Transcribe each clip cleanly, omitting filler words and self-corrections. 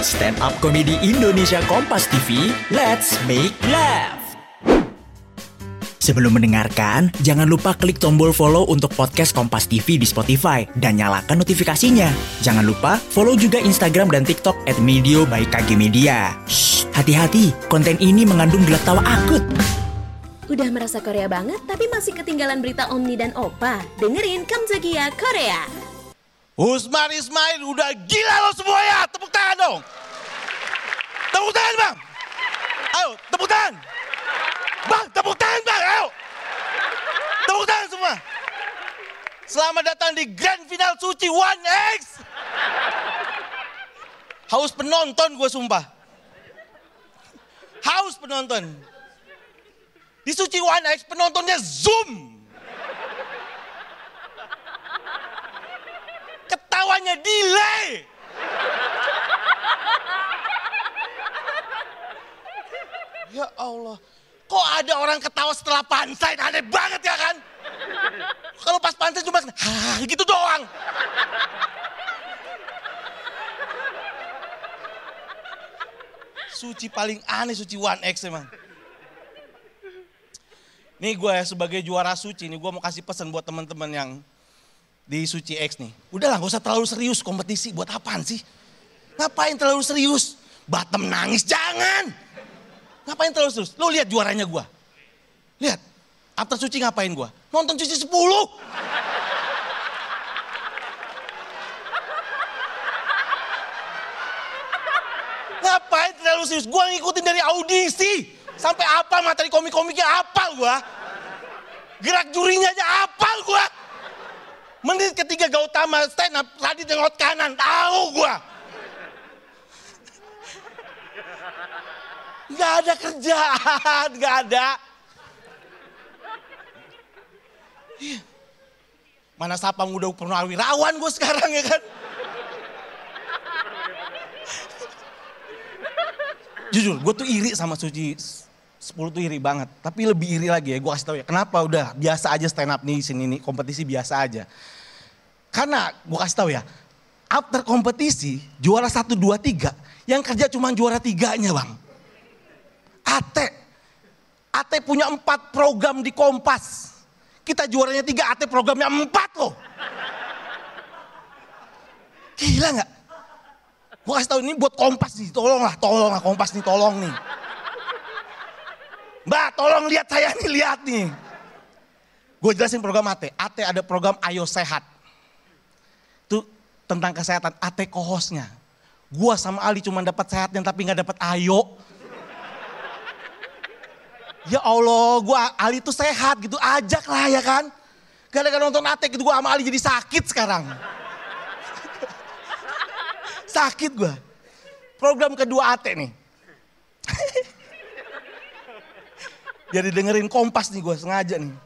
Stand Up Comedy Indonesia Kompas TV, let's make laugh. Sebelum mendengarkan, jangan lupa klik tombol follow untuk podcast Kompas TV di Spotify dan nyalakan notifikasinya. Jangan lupa follow juga Instagram dan TikTok @medio by KG Media. Shh, hati-hati, konten ini mengandung gelak tawa akut. Udah merasa Korea banget tapi masih ketinggalan berita Omni dan Opa? Dengerin Kamjagiya Korea. Usman Ismail udah gila lo semua ya. Tepuk tangan dong. Tepuk tangan bang. Ayo tepuk tangan. Bang tepuk tangan bang. Ayo. Tepuk tangan semua. Selamat datang di Grand Final Suci 1X. Haus penonton gue sumpah. Haus penonton. Di Suci 1X penontonnya Zoom. Ketawanya delay. Ya Allah. Kok ada orang ketawa setelah punchline? Aneh banget ya kan? Kalau pas punchline cuma gitu doang. Suci paling aneh Suci 1X emang. Nih gue sebagai juara Suci nih gue mau kasih pesan buat teman-teman yang di Suci X nih. Udahlah gak usah terlalu serius kompetisi. Buat apaan sih? Ngapain terlalu serius? Batem nangis jangan. Ngapain terlalu serius? Lo lihat juaranya gue. Lihat. After Suci ngapain gue? Nonton Suci 10. Ngapain terlalu serius? Gue ngikutin dari audisi. Sampai apa materi komik-komiknya apal gue. Gerak jurinya aja apal gue. Menit ketiga Gautama stand up, Radit nengok kanan, tahu gua. Gak ada kerjaan, gak ada. Mana Sapang udah purnawirawan gue sekarang ya kan. Jujur, gue tuh iri sama Suci 10 tuh iri banget. Tapi lebih iri lagi ya, gue kasih tau ya. Kenapa udah biasa aja stand up nih di sini nih, kompetisi biasa aja. Karena gue kasih tahu ya, after kompetisi juara 1, 2, 3, yang kerja cuma juara 3-nya bang. Ate punya 4 program di Kompas. Kita juaranya 3, Ate programnya 4 loh. Gila gak? Gue kasih tahu ini buat Kompas nih, tolonglah Kompas nih, tolong nih. Mbak tolong lihat saya nih, lihat nih. Gue jelasin program Ate. Ate ada program Ayo Sehat. Itu tentang kesehatan, Ate co-hostnya. Gua sama Ali cuma dapat sehatnya tapi gak dapat ayo. Ya Allah, gua Ali tuh sehat gitu, ajak lah ya kan. Gara-gara nonton Ate gitu gua sama Ali jadi sakit sekarang. Sakit gua. Program kedua Ate nih. Jadi dengerin Kompas nih gua sengaja nih.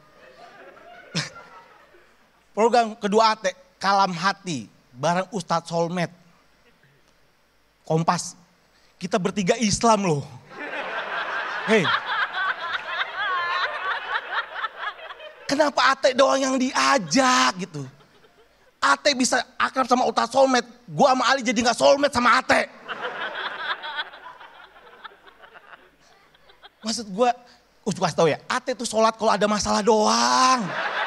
Program kedua Ate. Kalam Hati, bareng Ustadz Solmed. Kompas, kita bertiga Islam loh. Hei. Kenapa Ate doang yang diajak gitu? Ate bisa akrab sama Ustadz Solmed, gua sama Ali jadi gak soulmate sama Ate. Maksud gua kasih tau ya, Ate tuh sholat kalau ada masalah doang.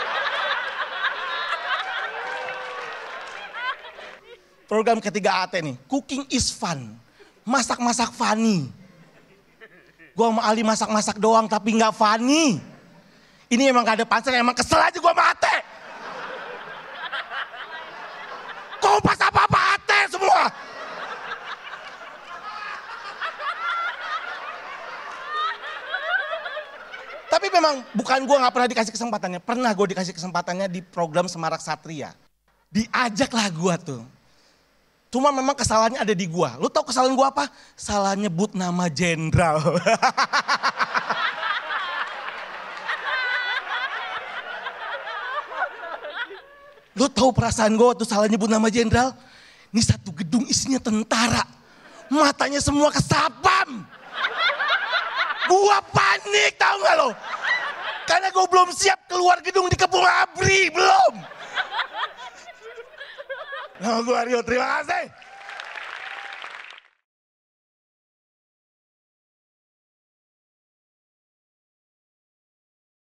Program ketiga Ate nih, cooking is fun. Masak-masak funny. Gue sama Ali masak-masak doang tapi gak funny. Ini emang gak ada pansel, emang kesel aja gue sama Ate. Kompas apa-apa Ate semua. Tapi memang bukan gue gak pernah dikasih kesempatannya. Pernah gue dikasih kesempatannya di program Semarak Satria. Diajaklah gue tuh. Cuma memang kesalahannya ada di gua. Lu tau kesalahan gua apa? Salah nyebut nama jenderal. Lu tau perasaan gua waktu salah nyebut nama jenderal? Ini satu gedung isinya tentara. Matanya semua kesapam. Gua panik tau gak lo? Karena gua belum siap keluar gedung di Kepung Abri, belum. Nah, gua Rio, terima kasih.